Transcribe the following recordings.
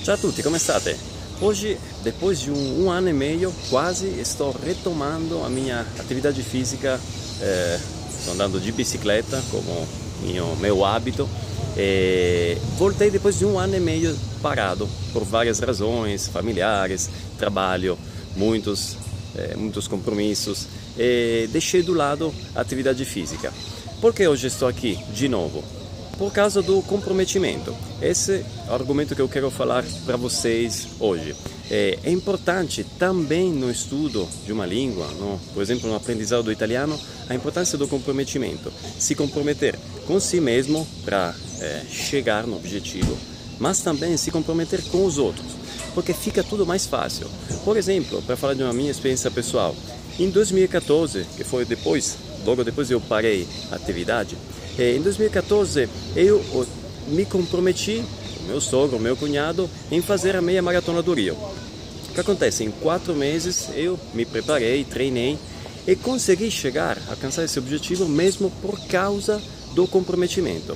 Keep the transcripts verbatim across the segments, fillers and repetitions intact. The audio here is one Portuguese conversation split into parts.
Ciao a tutti, come state? Oggi, depois de um, um ano e meio, quase estou retomando a minha atividade física. Eh, estou andando de bicicleta como mio, meu hábito. E voltei depois de um ano e meio parado por várias razões familiares, trabalho, muitos, eh, muitos compromissos, e deixei do lado a atividade física. Por que hoje estou aqui de novo? Por causa do comprometimento. Esse é o argumento que eu quero falar para vocês hoje. É, é importante também no estudo de uma língua, no, por exemplo, no aprendizado do italiano, a importância do comprometimento. Se comprometer com si mesmo para é, chegar no objetivo, mas também se comprometer com os outros, porque fica tudo mais fácil. Por exemplo, para falar de uma minha experiência pessoal, em dois mil e quatorze, que foi depois, logo depois eu parei a atividade, em dois mil e quatorze eu me comprometi, o meu sogro, o meu cunhado, em fazer a meia maratona do Rio. O que acontece? Em quatro meses eu me preparei, treinei e consegui chegar, alcançar esse objetivo mesmo por causa do comprometimento.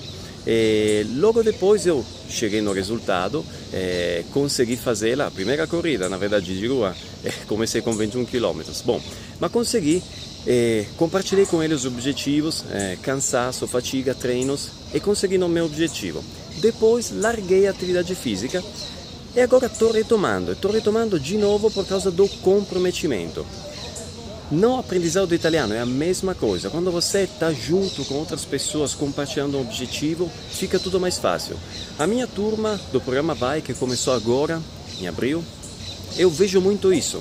E logo depois eu cheguei no resultado, eh, consegui fazer a primeira corrida, na verdade de rua, eh, comecei com vinte e um quilômetros. Bom, mas consegui. E compartilhei com ele os objetivos, eh, cansaço, fatiga, treinos e consegui o meu objetivo. Depois larguei a atividade física e agora estou retomando. Estou retomando de novo por causa do comprometimento. No aprendizado do italiano é a mesma coisa. Quando você está junto com outras pessoas compartilhando um objetivo, fica tudo mais fácil. A minha turma do programa Vai, que começou agora, em abril, eu vejo muito isso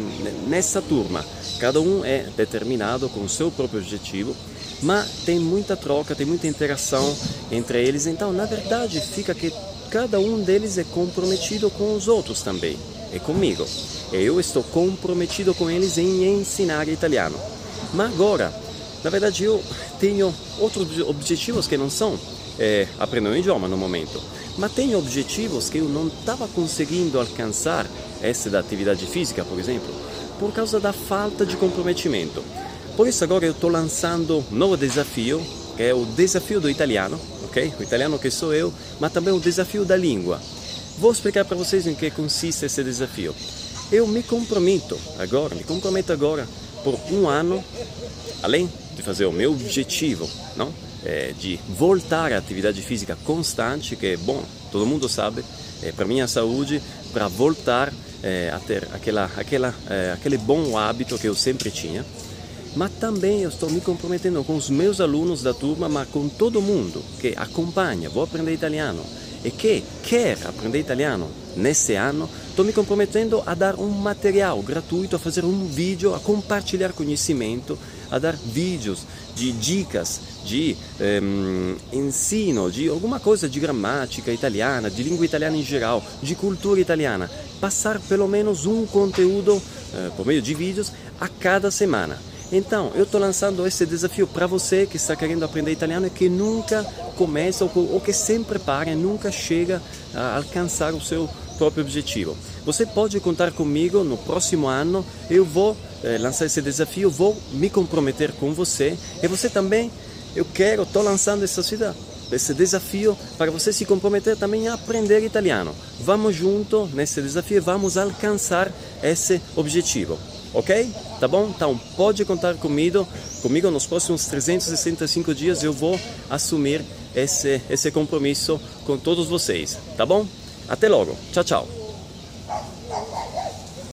nessa turma. Cada um é determinado com o seu próprio objetivo, mas tem muita troca, tem muita interação entre eles. Então, na verdade, fica que cada um deles é comprometido com os outros também, e comigo. E eu estou comprometido com eles em ensinar italiano. Mas agora, na verdade, eu tenho outros objetivos que não são é, aprender um idioma no momento, mas tenho objetivos que eu não estava conseguindo alcançar, esse da atividade física, por exemplo, por causa da falta de comprometimento. Por isso agora eu estou lançando um novo desafio, que é o desafio do italiano, ok? O italiano que sou eu, mas também o desafio da língua. Vou explicar para vocês em que consiste esse desafio. Eu me comprometo agora, me comprometo agora por um ano, além de fazer o meu objetivo, não? É, de voltar à atividade física constante, que é bom, todo mundo sabe, é, para minha saúde, para voltar é, a ter aquela, aquela, é, aquele bom hábito que eu sempre tinha. Mas também eu estou me comprometendo com os meus alunos da turma, mas com todo mundo que acompanha, vou aprender italiano e que quer aprender italiano nesse ano. Estou me comprometendo a dar um material gratuito, a fazer um vídeo, a compartilhar conhecimento, a dar vídeos de dicas, de um, ensino, de alguma coisa de gramática italiana, de língua italiana em geral, de cultura italiana. Passar pelo menos um conteúdo uh, por meio de vídeos a cada semana. Então, eu estou lançando esse desafio para você que está querendo aprender italiano e que nunca começa ou, ou que sempre para e nunca chega a alcançar o seu próprio objetivo. Você pode contar comigo no próximo ano. Eu vou eh, lançar esse desafio, vou me comprometer com você e você também. Eu quero, estou lançando essa cidade, esse desafio para você se comprometer também a aprender italiano. Vamos junto nesse desafio e vamos alcançar esse objetivo. Ok? Tá bom? Então pode contar comigo, comigo nos próximos trezentos e sessenta e cinco dias eu vou assumir esse, esse compromisso com todos vocês. Tá bom? Até logo. Tchau, tchau.